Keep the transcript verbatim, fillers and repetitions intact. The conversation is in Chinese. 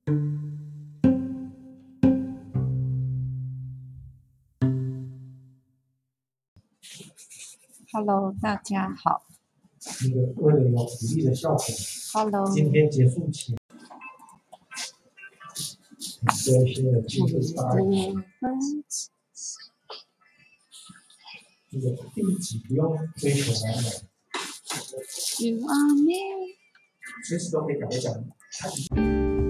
Hello， 大家好。 那個為了有鼓勵的效果 ，Hello， 今天結束前，做一些的技術發言。這個第幾不用追求完美，隨時都可以改一講。